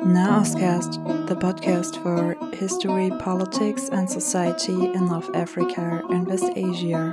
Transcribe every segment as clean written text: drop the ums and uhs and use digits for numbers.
Nahostcast, the podcast for history, politics, and society in North Africa and West Asia.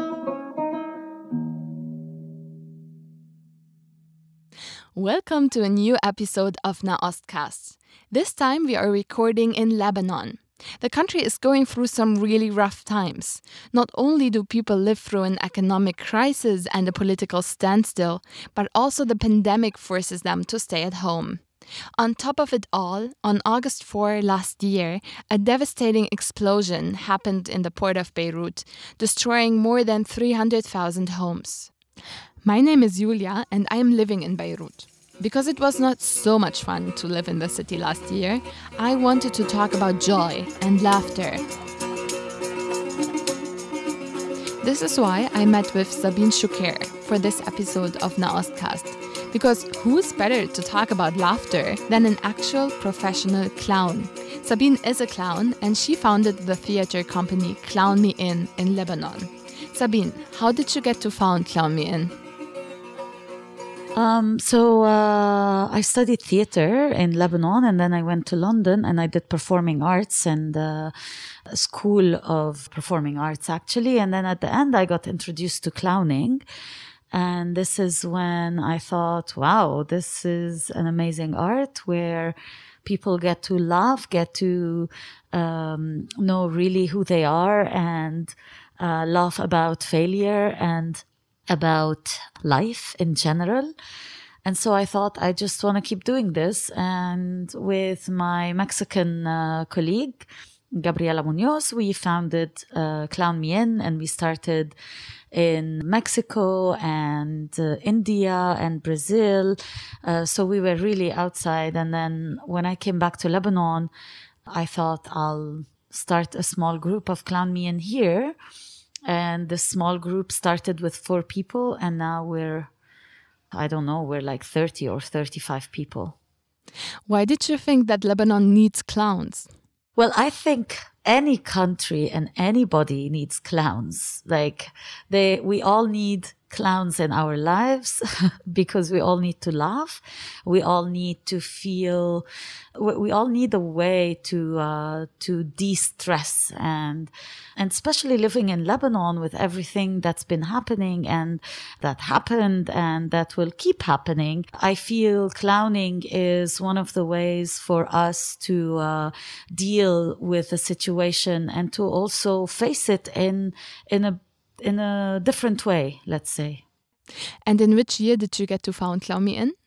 Welcome to a new episode of Nahostcast. This time we are recording in Lebanon. The country is going through some really rough times. Not only do people live through an economic crisis and a political standstill, but also the pandemic forces them to stay at home. On top of it all, on August 4 last year, a devastating explosion happened in the port of Beirut, destroying more than 300,000 homes. My name is Julia and I am living in Beirut. Because it was not so much fun to live in the city last year, I wanted to talk about joy and laughter. This is why I met with Sabine Choucair for this episode of Nahostcast. Because who's better to talk about laughter than an actual professional clown? Sabine is a clown and she founded the theater company Clown Me In Lebanon. Sabine, how did you get to found Clown Me In? I studied theater in Lebanon, and then I went to London and I did performing arts and a school of performing arts actually. And then at the end I got introduced to clowning. And this is when I thought, wow, this is an amazing art where people get to laugh, get to know really who they are and laugh about failure and about life in general. And so I thought I just want to keep doing this. And with my Mexican colleague, Gabriela Munoz, we founded Clown Me In, and we started in Mexico and India and Brazil. So we were really outside. And then when I came back to Lebanon, I thought I'll start a small group of Clown Me In here. And the small group started with 4 people, and now we're like 30 or 35 people. Why did you think that Lebanon needs clowns? Well, I think any country and anybody needs clowns. We all need clowns in our lives because we all need to laugh. We all need to feel, we all need a way to de-stress and especially living in Lebanon with everything that's been happening and that happened and that will keep happening. I feel clowning is one of the ways for us to deal with the situation and to also face it in a different way, let's say. And in which year did you get to found Clown Me In?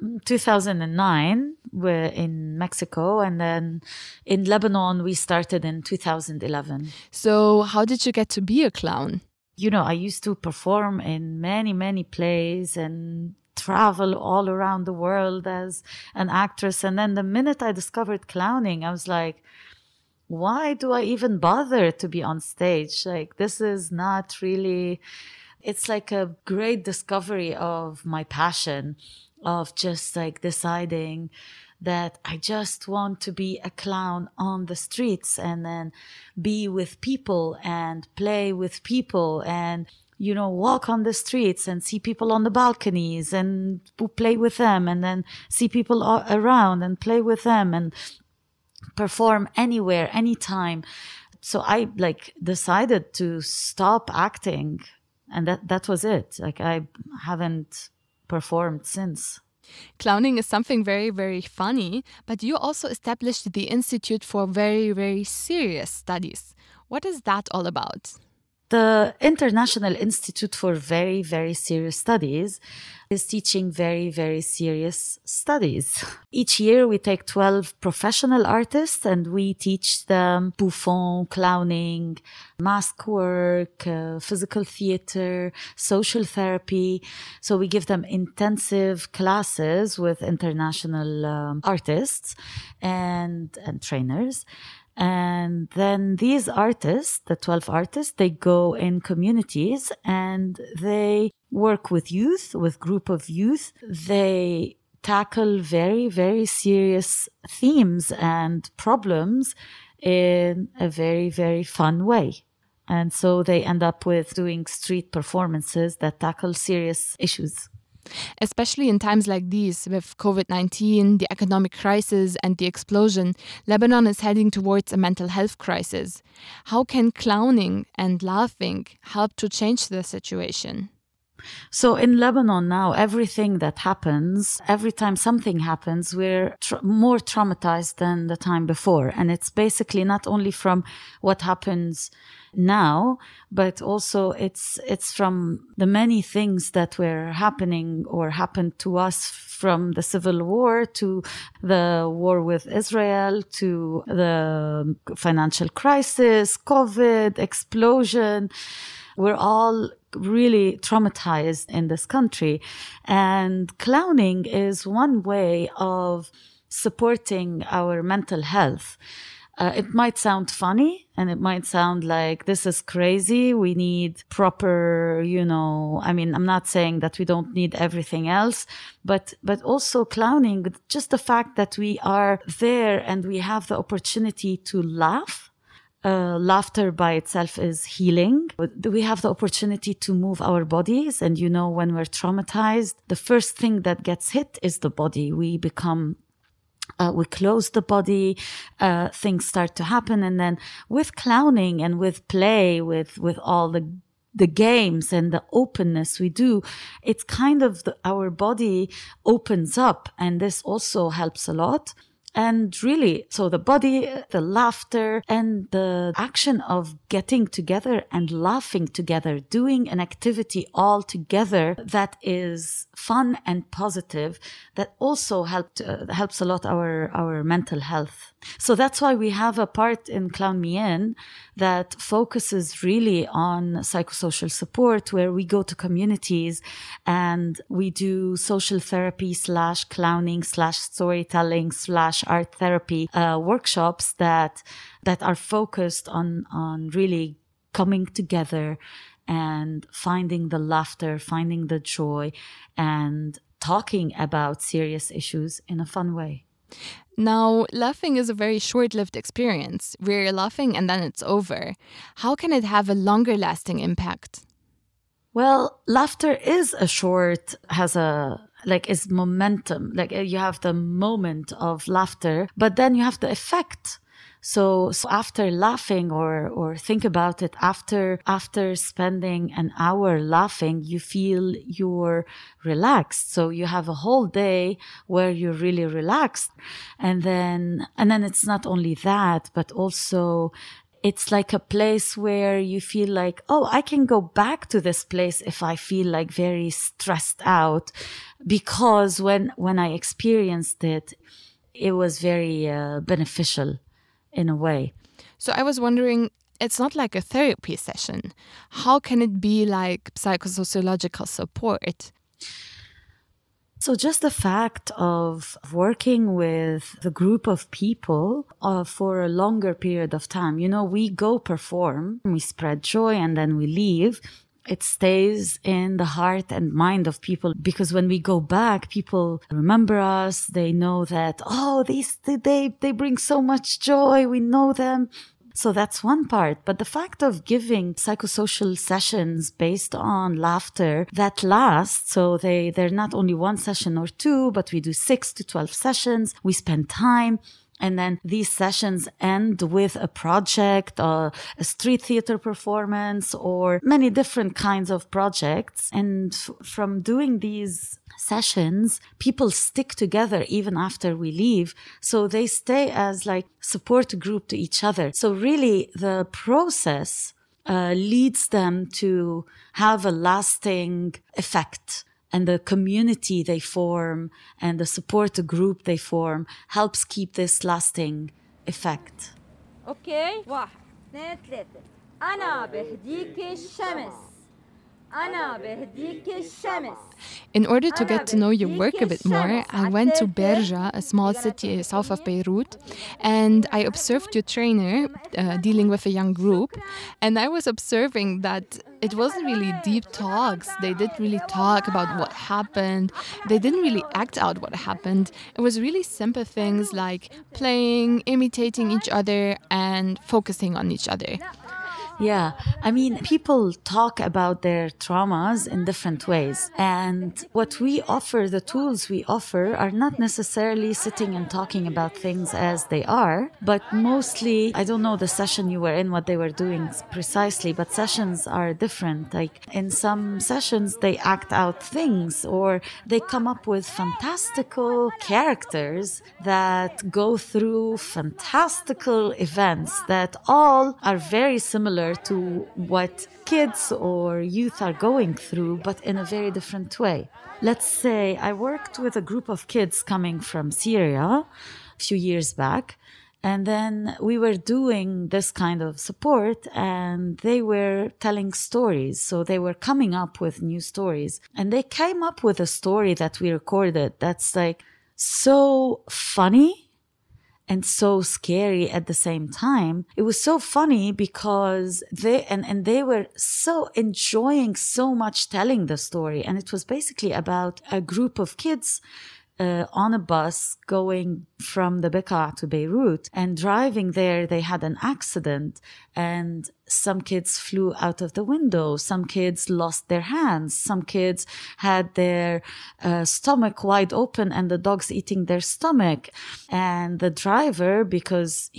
2009, we're in Mexico, and then in Lebanon, we started in 2011. So how did you get to be a clown? I used to perform in many, many plays and travel all around the world as an actress. And then the minute I discovered clowning, I was like, why do I even bother to be on stage? This is not really, it's like a great discovery of my passion of just deciding that I just want to be a clown on the streets and then be with people and play with people and, walk on the streets and see people on the balconies and play with them and then see people around and play with them and perform anywhere, anytime. So I decided to stop acting, and that was it. I haven't performed since. Clowning is something very, very funny, but you also established the Institute for Very, Very Serious Studies. What is that all about? The International Institute for Very, Very Serious Studies is teaching very, very serious studies. Each year we take 12 professional artists and we teach them bouffon, clowning, mask work, physical theater, social therapy. So we give them intensive classes with international artists and trainers. And then these artists, the 12 artists, they go in communities and they work with youth, with group of youth. They tackle very, very serious themes and problems in a very, very fun way. And so they end up with doing street performances that tackle serious issues. Especially in times like these, with COVID-19, the economic crisis, and the explosion, Lebanon is heading towards a mental health crisis. How can clowning and laughing help to change the situation? So in Lebanon now, everything that happens, every time something happens, we're more traumatized than the time before. And it's basically not only from what happens now, but also it's from the many things that were happening or happened to us, from the civil war to the war with Israel to the financial crisis, COVID, explosion. We're all really traumatized in this country. And clowning is one way of supporting our mental health. It might sound funny and it might sound like this is crazy. We need proper, I'm not saying that we don't need everything else, but also clowning, just the fact that we are there and we have the opportunity to laugh. Laughter by itself is healing. We have the opportunity to move our bodies. And when we're traumatized, the first thing that gets hit is the body. We close the body, things start to happen. And then with clowning and with play, with all the games and the openness we do, it's kind of our body opens up. And this also helps a lot. And really, so the body, the laughter, and the action of getting together and laughing together, doing an activity all together that is fun and positive, that also helps a lot our mental health. So that's why we have a part in Clown Me In that focuses really on psychosocial support, where we go to communities and we do social therapy / clowning / storytelling / art therapy workshops that are focused on really coming together and finding the laughter, finding the joy, and talking about serious issues in a fun way. Now, laughing is a very short-lived experience. We're laughing and then it's over. How can it have a longer-lasting impact? Well, laughter is is momentum. Like you have the moment of laughter, but then you have the effect. So after laughing or think about it, after spending an hour laughing, you feel you're relaxed. So you have a whole day where you're really relaxed. And then it's not only that, but also it's like a place where you feel like, oh, I can go back to this place if I feel like very stressed out, because when I experienced it, it was very beneficial in a way. So I was wondering, it's not like a therapy session. How can it be like psychosociological support? So just the fact of working with the group of people for a longer period of time, we go perform, we spread joy, and then we leave. It stays in the heart and mind of people, because when we go back, people remember us. They know that, they bring so much joy. We know them. So that's one part. But the fact of giving psychosocial sessions based on laughter that last, so they're not only one session or two, but we do 6 to 12 sessions. We spend time. And then these sessions end with a project, a street theater performance, or many different kinds of projects. And from doing these sessions, people stick together even after we leave. So they stay as like support group to each other. So really the process leads them to have a lasting effect. And the community they form and the support group they form helps keep this lasting effect. Okay, 1 2 3 أنا بهديك الشمس. In order to get to know your work a bit more, I went to Berja, a small city south of Beirut, and I observed your trainer dealing with a young group, and I was observing that it wasn't really deep talks. They didn't really talk about what happened. They didn't really act out what happened. It was really simple things like playing, imitating each other, and focusing on each other. Yeah, I mean, people talk about their traumas in different ways. And what we offer, the tools we offer, are not necessarily sitting and talking about things as they are, but mostly, I don't know the session you were in, what they were doing precisely, but sessions are different. Like in some sessions, they act out things or they come up with fantastical characters that go through fantastical events that all are very similar to what kids or youth are going through, but in a very different way. Let's say I worked with a group of kids coming from Syria a few years back, and then we were doing this kind of support and they were telling stories. So they were coming up with new stories, and they came up with a story that we recorded that's like so funny and so scary at the same time. It was so funny because they were so enjoying so much telling the story. And it was basically about a group of kids on a bus going from the Bekaa to Beirut, and driving there, they had an accident and some kids flew out of the window. Some kids lost their hands. Some kids had their stomach wide open and the dogs eating their stomach. And the driver, because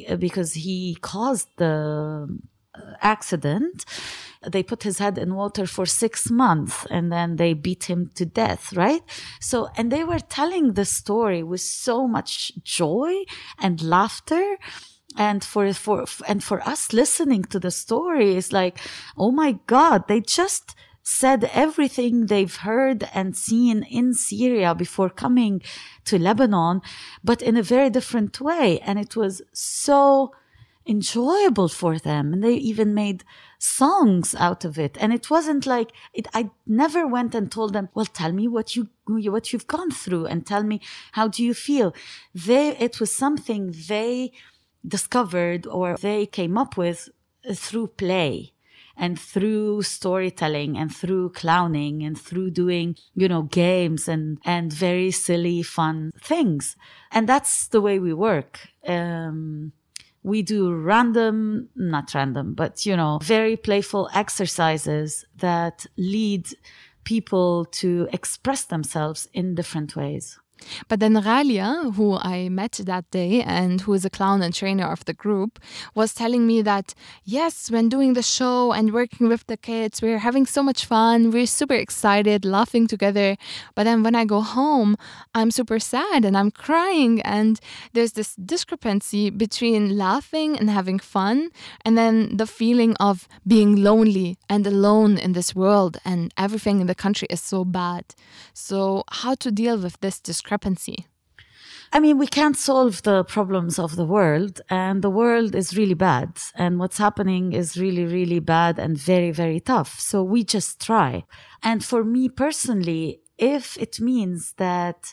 he caused the accident, they put his head in water for 6 months and then they beat him to death, right? So, and they were telling the story with so much joy and laughter. And for us listening to the story is like, oh my God, they just said everything they've heard and seen in Syria before coming to Lebanon, but in a very different way. And it was so enjoyable for them. And they even made songs out of it. And it wasn't like I never went and told them, well, tell me what you've gone through and tell me, how do you feel? It was something they discovered or they came up with through play and through storytelling and through clowning and through doing, games and very silly, fun things. And that's the way we work. We do not random, but, very playful exercises that lead people to express themselves in different ways. But then Ghalia, who I met that day and who is a clown and trainer of the group, was telling me that, yes, when doing the show and working with the kids, we're having so much fun. We're super excited, laughing together. But then when I go home, I'm super sad and I'm crying. And there's this discrepancy between laughing and having fun and then the feeling of being lonely and alone in this world and everything in the country is so bad. So how to deal with this discrepancy? I mean, we can't solve the problems of the world, and the world is really bad. And what's happening is really, really bad and very, very tough. So we just try. And for me personally, if this means that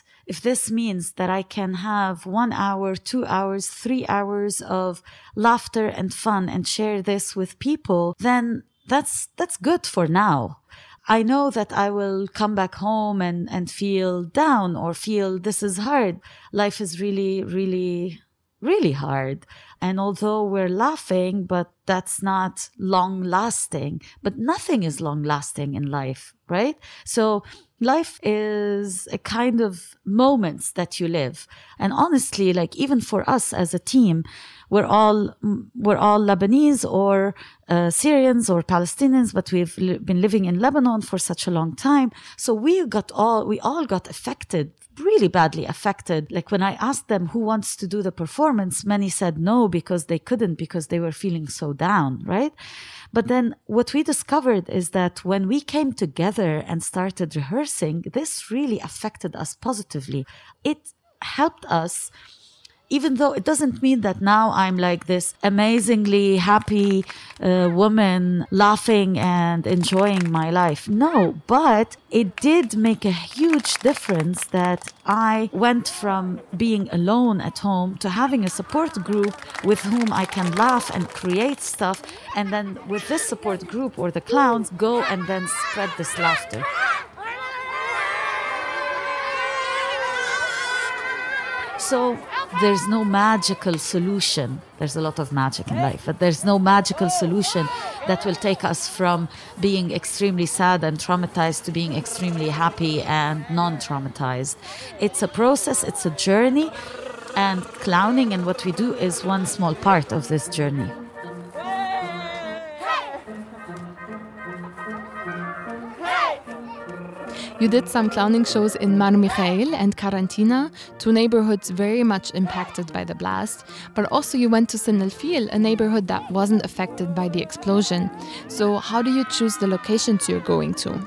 I can have 1 hour, 2 hours, 3 hours of laughter and fun and share this with people, then that's good for now. I know that I will come back home and feel down or feel this is hard. Life is really, really, really hard. And although we're laughing, but that's not long lasting. But nothing is long lasting in life, right? So life is a kind of moments that you live. And honestly, like even for us as a team, we're all Lebanese or Syrians or Palestinians, but we've been living in Lebanon for such a long time. So we all got affected, really badly affected. Like when I asked them who wants to do the performance, many said no because they couldn't, because they were feeling so down, right? But then what we discovered is that when we came together and started rehearsing, this really affected us positively. It helped us, even though it doesn't mean that now I'm like this amazingly happy woman laughing and enjoying my life. No, but it did make a huge difference that I went from being alone at home to having a support group with whom I can laugh and create stuff. And then with this support group or the clowns, go and then spread this laughter. So there's no magical solution. There's a lot of magic in life, but there's no magical solution that will take us from being extremely sad and traumatized to being extremely happy and non-traumatized. It's a process, it's a journey, and clowning and what we do is one small part of this journey. You did some clowning shows in Mar Mikhael and Karantina, two neighborhoods very much impacted by the blast, but also you went to Sin El Fil, a neighborhood that wasn't affected by the explosion. So how do you choose the locations you're going to?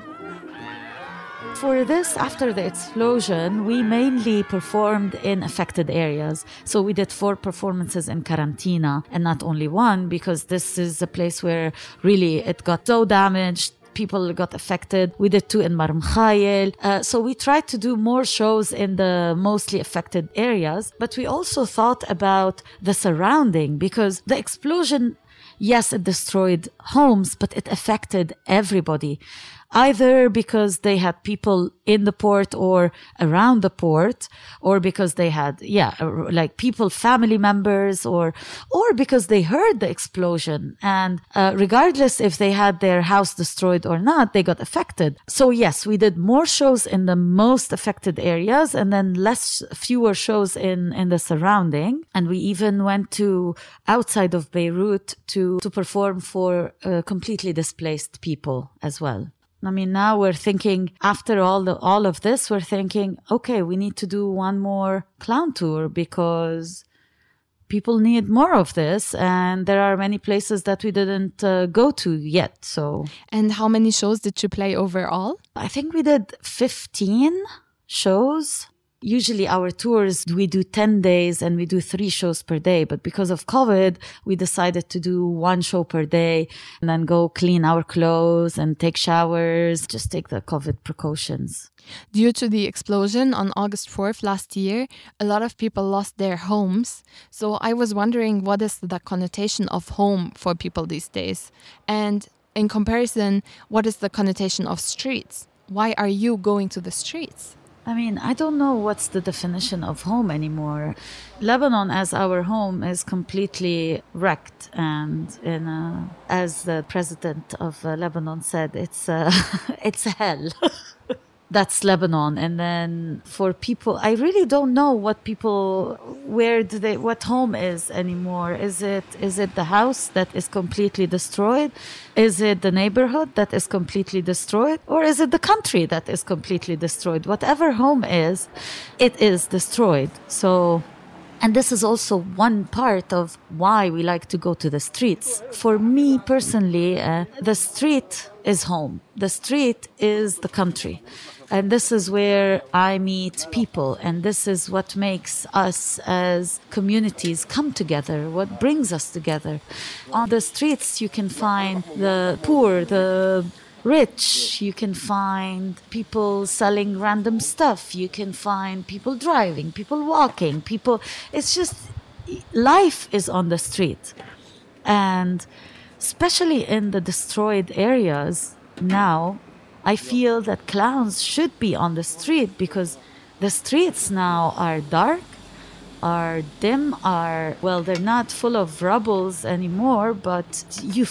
For this, after the explosion, we mainly performed in affected areas. So we did 4 performances in Karantina, and not only one, because this is a place where really it got so damaged. People got affected. We did 2 in Mar Mikhael. So we tried to do more shows in the mostly affected areas, but we also thought about the surrounding, because the explosion, yes, it destroyed homes, but it affected everybody. Either because they had people in the port or around the port, or because they had, like people, family members, or because they heard the explosion. And regardless if they had their house destroyed or not, they got affected. So yes, we did more shows in the most affected areas and then fewer shows in the surrounding. And we even went to outside of Beirut to perform for completely displaced people as well. I mean, now we're thinking, after all of this, we're thinking, okay, we need to do one more clown tour because people need more of this. And there are many places that we didn't go to yet. So, and how many shows did you play overall? I think we did 15 shows. Usually our tours, we do 10 days and we do 3 shows per day. But because of COVID, we decided to do 1 show per day and then go clean our clothes and take showers, just take the COVID precautions. Due to the explosion on August 4th last year, a lot of people lost their homes. So I was wondering, what is the connotation of home for people these days? And in comparison, what is the connotation of streets? Why are you going to the streets? I mean, I don't know what's the definition of home anymore. Lebanon as our home is completely wrecked. And as the president of Lebanon said, it's it's hell. That's Lebanon. And then for people, I really don't know what home is anymore. Is it the house that is completely destroyed? Is it the neighborhood that is completely destroyed? Or is it the country that is completely destroyed? Whatever home is, it is destroyed. So, and this is also one part of why we like to go to the streets. For me personally, the street is home. The street is the country. And this is where I meet people. And this is what makes us as communities come together, what brings us together. On the streets, you can find the poor, the rich. You can find people selling random stuff. You can find people driving, people walking, it's just, life is on the street. And especially in the destroyed areas now, I feel that clowns should be on the street, because the streets now are dark, are dim, they're not full of rubbles anymore, but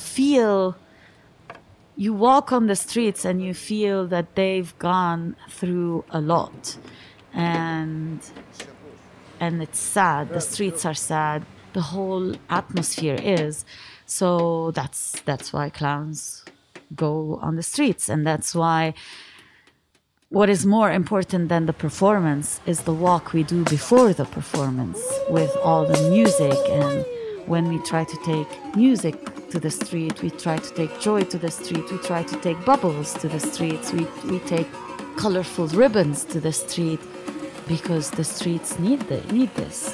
you walk on the streets and you feel that they've gone through a lot. And it's sad. The streets are sad. The whole atmosphere is. So that's why clowns go on the streets. And that's why what is more important than the performance is the walk we do before the performance, with all the music. And when we try to take music to the street, we try to take joy to the street, we try to take bubbles to the streets, we take colorful ribbons to the street, because the streets need this.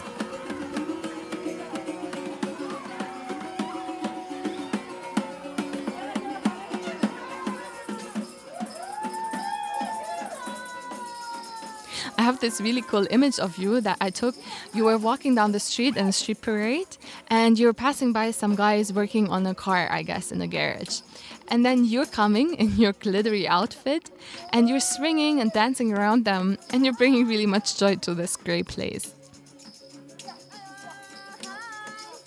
I have this really cool image of you that I took. You were walking down the street in a street parade, and you were passing by some guys working on a car, I guess, in a garage. And then you're coming in your glittery outfit, and you're swinging and dancing around them, and you're bringing really much joy to this great place.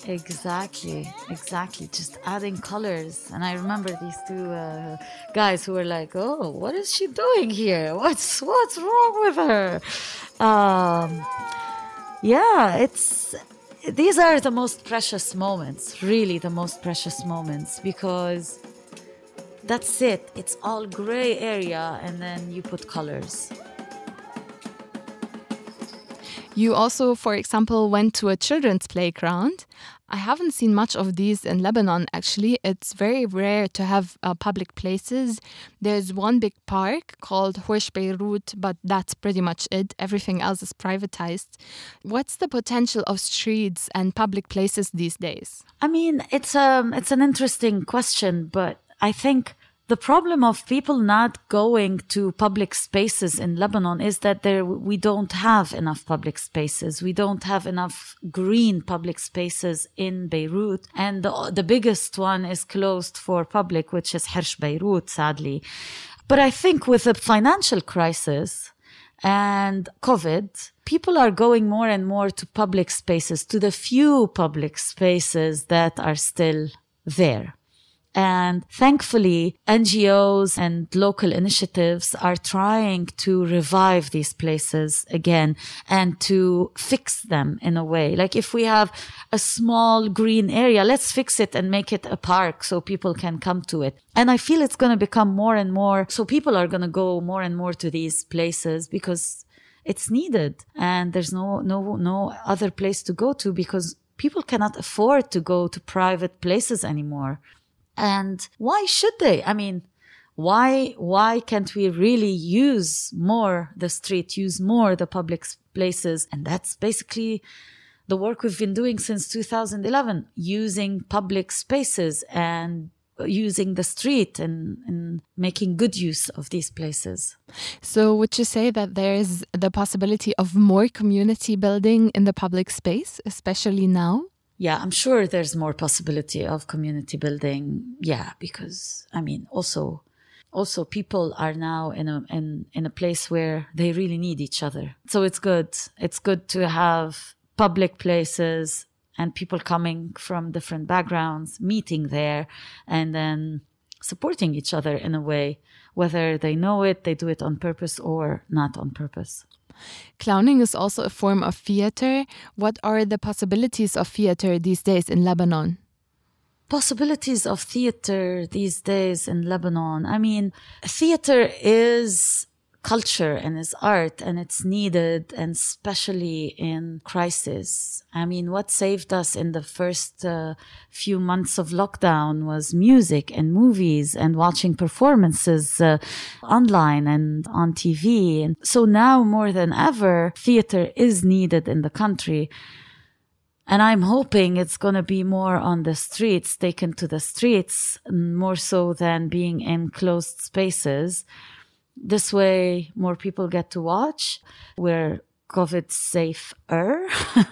Exactly. Just adding colors. And I remember these two guys who were like, "Oh, what is she doing here? What's wrong with her?" These are the most precious moments, really the most precious moments, because that's it. It's all gray area, and then you put colors. You also, for example, went to a children's playground. I haven't seen much of these in Lebanon, actually. It's very rare to have public places. There's one big park called Horsh Beirut, but that's pretty much it. Everything else is privatized. What's the potential of streets and public places these days? I mean, it's an interesting question, but I think the problem of people not going to public spaces in Lebanon is that we don't have enough public spaces. We don't have enough green public spaces in Beirut. And the biggest one is closed for public, which is Horsh Beirut, sadly. But I think with the financial crisis and COVID, people are going more and more to public spaces, to the few public spaces that are still there. And thankfully, NGOs and local initiatives are trying to revive these places again and to fix them in a way. Like if we have a small green area, let's fix it and make it a park so people can come to it. And I feel it's going to become more and more. So people are going to go more and more to these places because it's needed. And there's no other place to go to because people cannot afford to go to private places anymore. And why should they? I mean, why can't we really use more the street, use more the public places? And that's basically the work we've been doing since 2011, using public spaces and using the street and making good use of these places. So would you say that there is the possibility of more community building in the public space, especially now? Yeah, I'm sure there's more possibility of community building. Yeah, because I mean, also people are now in a place where they really need each other. So it's good. It's good to have public places and people coming from different backgrounds, meeting there and then supporting each other in a way, whether they know it, they do it on purpose or not on purpose. Clowning is also a form of theater. What are the possibilities of theater these days in Lebanon? Possibilities of theater these days in Lebanon. I mean, theater is culture and is art and it's needed, and especially in crisis. I mean, what saved us in the first few months of lockdown was music and movies and watching performances online and on TV. And so now more than ever, theater is needed in the country. And I'm hoping it's going to be more on the streets, taken to the streets, more so than being in closed spaces. This way, more people get to watch. We're COVID safer.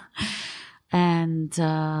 And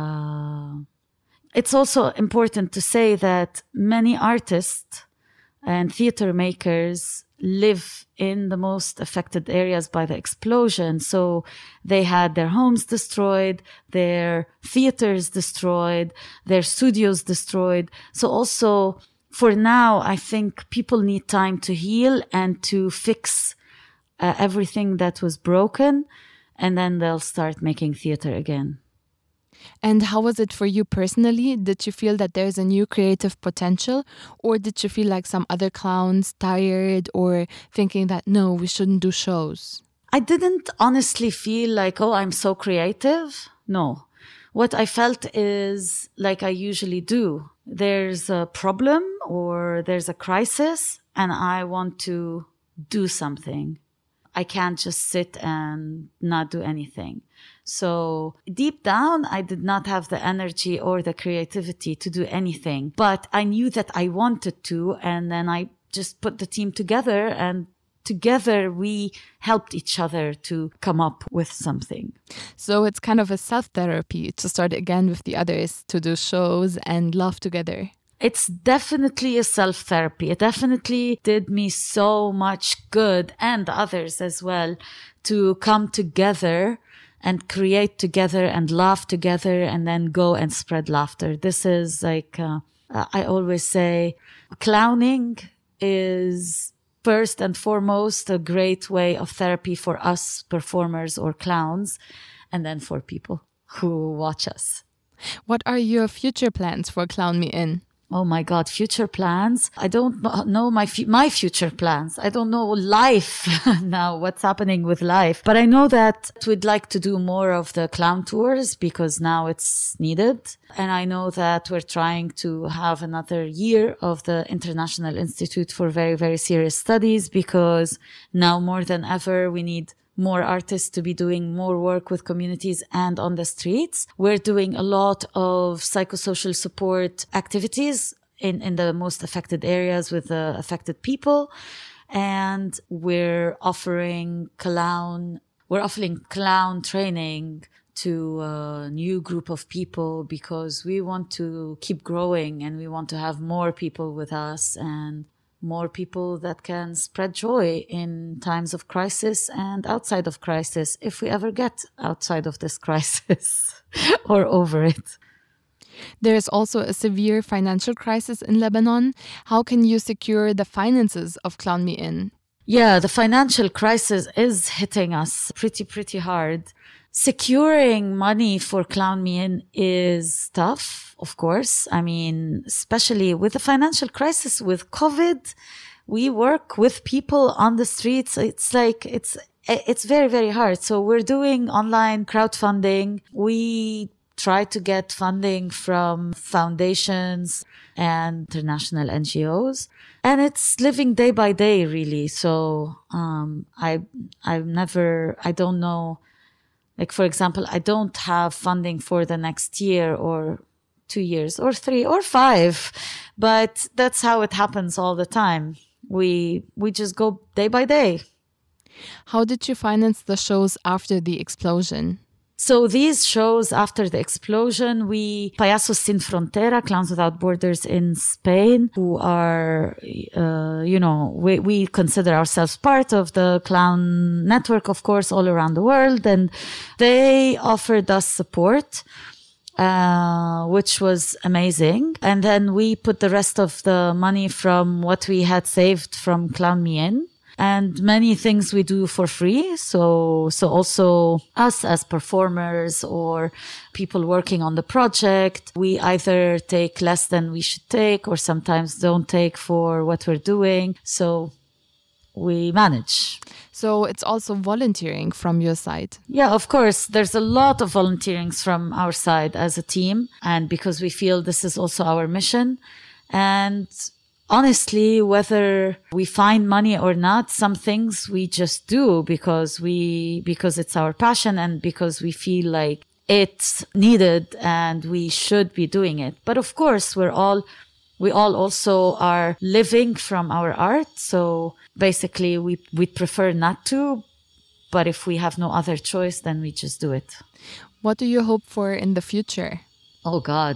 it's also important to say that many artists and theater makers live in the most affected areas by the explosion. So they had their homes destroyed, their theaters destroyed, their studios destroyed. So also, for now, I think people need time to heal and to fix everything that was broken, and then they'll start making theater again. And how was it for you personally? Did you feel that there's a new creative potential, or did you feel like some other clowns, tired, or thinking that, no, we shouldn't do shows? I didn't honestly feel like, oh, I'm so creative. No. What I felt is like I usually do. There's a problem or there's a crisis and I want to do something. I can't just sit and not do anything. So deep down, I did not have the energy or the creativity to do anything, but I knew that I wanted to. And then I just put the team together, and together we helped each other to come up with something. So it's kind of a self-therapy to start again with the others, to do shows and laugh together. It's definitely a self-therapy. It definitely did me so much good, and others as well, to come together and create together and laugh together and then go and spread laughter. This is like, I always say, clowning is first and foremost a great way of therapy for us performers or clowns, and then for people who watch us. What are your future plans for Clown Me In? Oh my God, future plans. I don't know my future plans. I don't know life now, what's happening with life. But I know that we'd like to do more of the clown tours because now it's needed. And I know that we're trying to have another year of the International Institute for Very, Very Serious Studies, because now more than ever we need more artists to be doing more work with communities and on the streets. We're doing a lot of psychosocial support activities in the most affected areas with the affected people. And we're offering clown training to a new group of people because we want to keep growing and we want to have more people with us and more people that can spread joy in times of crisis and outside of crisis, if we ever get outside of this crisis or over it. There is also a severe financial crisis in Lebanon. How can you secure the finances of Clown Me In? Yeah, the financial crisis is hitting us pretty hard. Securing money for Clown Me In is tough, of course. I mean, especially with the financial crisis, with COVID, we work with people on the streets. It's like, it's very, very hard. So we're doing online crowdfunding. We try to get funding from foundations and international NGOs. And it's living day by day, really. So, I don't know. Like, for example, I don't have funding for the next year or 2 years or 3 or 5, but that's how it happens all the time. We just go day by day. How did you finance the shows after the explosion? So these shows after the explosion, Payasos Sin Frontera, Clowns Without Borders in Spain, who are, we consider ourselves part of the clown network, of course, all around the world. And they offered us support, which was amazing. And then we put the rest of the money from what we had saved from Clown Me In. And many things we do for free. So also us as performers or people working on the project, we either take less than we should take or sometimes don't take for what we're doing. So we manage. So it's also volunteering from your side. Yeah, of course. There's a lot of volunteerings from our side as a team. And because we feel this is also our mission. And honestly, whether we find money or not, some things we just do because it's our passion and because we feel like it's needed and we should be doing it. But of course, we all also are living from our art. So basically we prefer not to, but if we have no other choice, then we just do it. What do you hope for in the future? Oh God.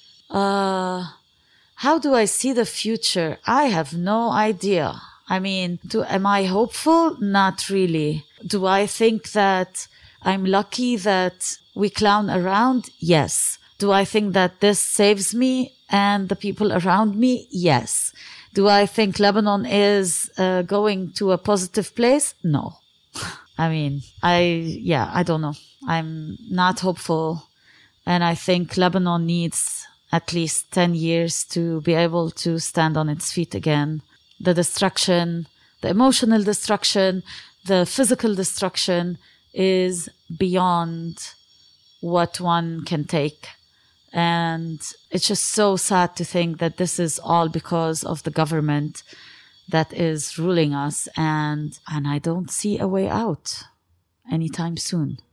How do I see the future? I have no idea. I mean, am I hopeful? Not really. Do I think that I'm lucky that we clown around? Yes. Do I think that this saves me and the people around me? Yes. Do I think Lebanon is going to a positive place? No. I mean, I don't know. I'm not hopeful. And I think Lebanon needs at least 10 years to be able to stand on its feet again. The destruction, the emotional destruction, the physical destruction is beyond what one can take. And it's just so sad to think that this is all because of the government that is ruling us. And I don't see a way out anytime soon.